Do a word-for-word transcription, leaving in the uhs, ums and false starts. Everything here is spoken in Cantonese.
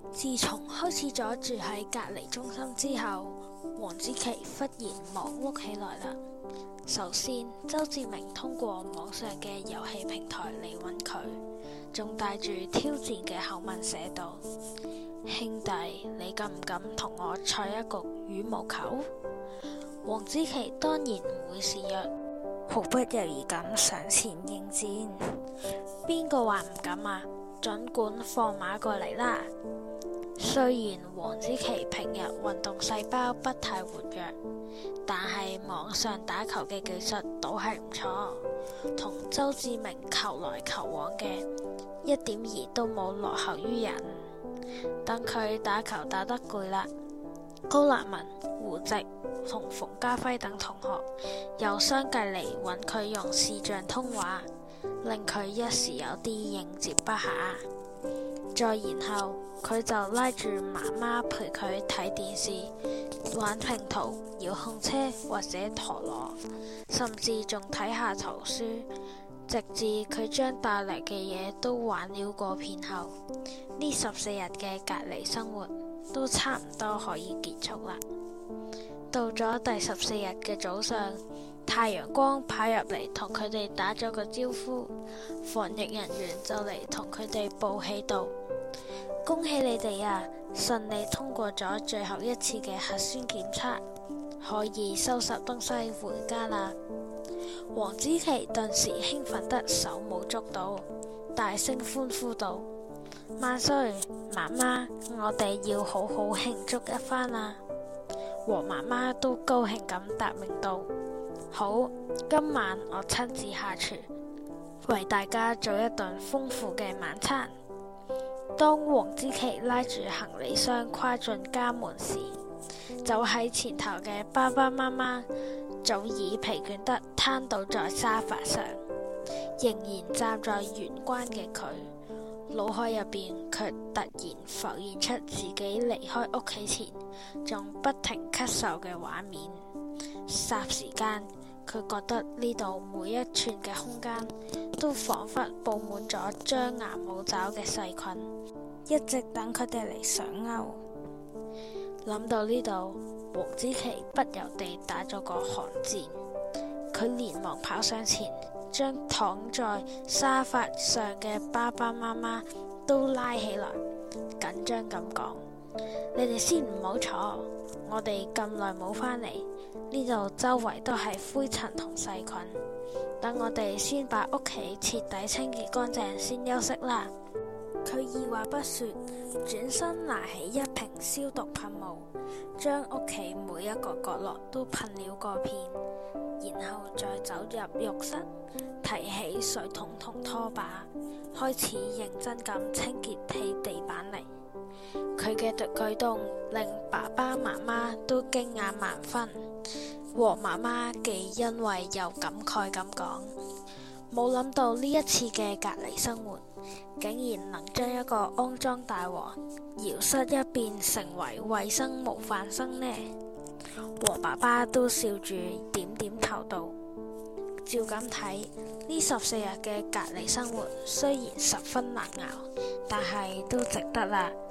自從開始咗住喺隔離中心之後，黃子琪忽然忙碌起來啦。首先，周志明通過網上嘅遊戲平台嚟揾佢，仲帶住挑戰嘅口吻寫道：兄弟，你敢唔敢同我賽一局羽毛球？黃子琪當然唔會示弱，毫不猶豫咁上前應戰。邊個話唔敢啊？盡管放馬過嚟啦！雖然黃子琪平日運動細胞不太活躍，但係網上打球嘅技術都係唔錯，同周志明球來球往嘅，一點兒都冇落後於人。等佢打球打得攰啦，高立文、胡直同馮家輝等同學又相繼嚟揾佢用視像通話，令佢一時有啲應接不暇。再然後，佢就拉住媽媽陪佢睇電視、玩拼圖、遙控車或者陀螺，甚至仲睇下圖書，直至佢將帶嚟嘅嘢都玩了過片後，呢十四日嘅隔離生活都差唔多可以結束啦。到咗第十四日嘅早上，太陽光跑入嚟同佢哋打咗個招呼，防疫人員就嚟同佢哋報喜道：恭喜你哋啊，順利通過咗最後一次嘅核酸檢測，可以收拾東西回家啦。黃子琪頓時興奮得手舞足蹈，大聲歡呼道：萬歲！媽媽，我哋要好好慶祝一番啦！黃媽媽都高興咁答應道：好，今晚我親自下廚，為大家做一頓豐富嘅晚餐。當黃子琪拉住行李箱跨進家門時，走喺前頭嘅爸爸媽媽早已疲倦得癱倒在沙發上，仍然站在玄關嘅佢，腦海入邊卻突然浮現出自己離開屋企前仲不停咳嗽嘅畫面。霎時間，佢覺得呢度每一寸嘅空間都仿佛布滿咗張牙舞爪嘅細菌，一直等佢哋嚟上鈎。諗到呢度，黃子琪不由地打咗個寒戰，佢連忙跑上前，將躺在沙發上嘅爸爸媽媽都拉起來，緊張咁講：你哋先唔好坐，我哋咁耐冇返嚟，呢度周圍都係灰塵同細菌，等我哋先把屋企徹底清潔乾淨先休息啦。佢二話不說，轉身拿起一瓶消毒噴霧，將屋企每一個角落都噴了個遍，然後再走入浴室，提起水桶同拖把，開始認真咁清潔起地板嚟。佢嘅舉動令爸爸媽媽都驚訝萬分。黃媽媽既欣慰又感慨咁講：冇諗到呢一次嘅隔離生活，竟然能將一個骯髒大王搖身一變成為衛生模範生呢？黃爸爸都笑住點點頭道：照咁睇，呢十四日嘅隔離生活雖然十分難熬，但係都值得啦。